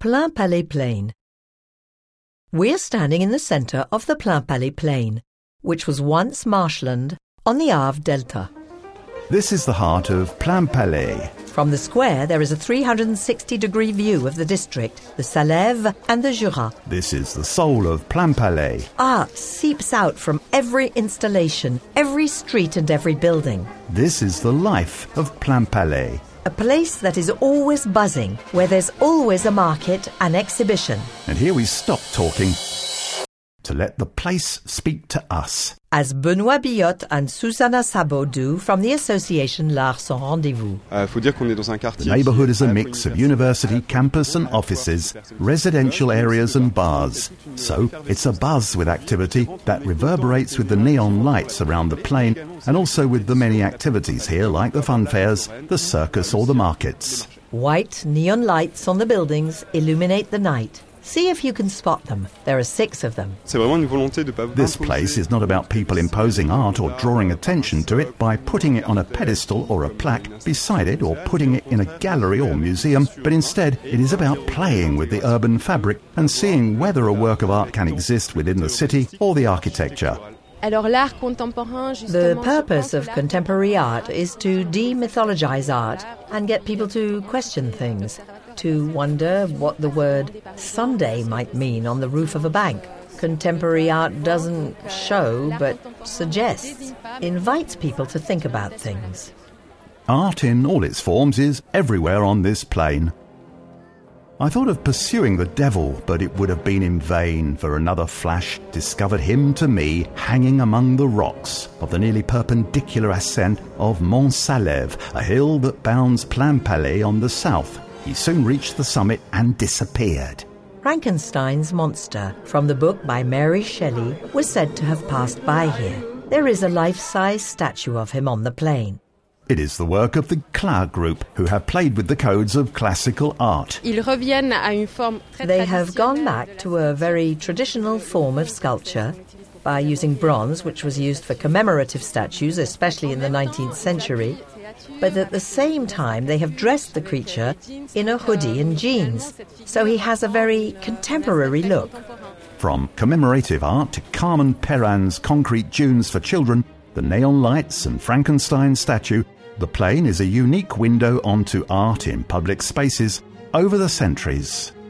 Plainpalais Plain. We're standing in the centre of the Plainpalais Plain, which was once marshland on the Arve Delta. This is the heart of Plainpalais. From the square, there is a 360-degree view of the district, the Salève and the Jura. This is the soul of Plainpalais. Art seeps out from every installation, every street and every building. This is the life of Plainpalais. A place that is always buzzing, where there's always a market and exhibition. And here we stop talking to let the place speak to us. As Benoît Billotte and Susanna Sabot do from the association L'Art Sans Rendez-vous. The neighbourhood is a mix of university campus and offices, residential areas and bars. So it's a buzz with activity that reverberates with the neon lights around the plain and also with the many activities here like the fun fairs, the circus or the markets. White neon lights on the buildings illuminate the night. See if you can spot them. There are 6 of them. This place is not about people imposing art or drawing attention to it by putting it on a pedestal or a plaque beside it or putting it in a gallery or museum, but instead it is about playing with the urban fabric and seeing whether a work of art can exist within the city or the architecture. The purpose of contemporary art is to demythologize art and get people to question things, to wonder what the word Sunday might mean on the roof of a bank. Contemporary art doesn't show, but suggests, invites people to think about things. Art in all its forms is everywhere on this plain. I thought of pursuing the devil, but it would have been in vain, for another flash discovered him to me hanging among the rocks of the nearly perpendicular ascent of Mont Salève, a hill that bounds Plainpalais on the south. He soon reached the summit and disappeared. Frankenstein's monster, from the book by Mary Shelley, was said to have passed by here. There is a life-size statue of him on the plain. It is the work of the Clas group, who have played with the codes of classical art. They have gone back to a very traditional form of sculpture by using bronze, which was used for commemorative statues, especially in the 19th century. But at the same time, they have dressed the creature in a hoodie and jeans, so he has a very contemporary look. From commemorative art to Carmen Perrin's concrete dunes for children, the neon lights and Frankenstein statue, the plain is a unique window onto art in public spaces over the centuries.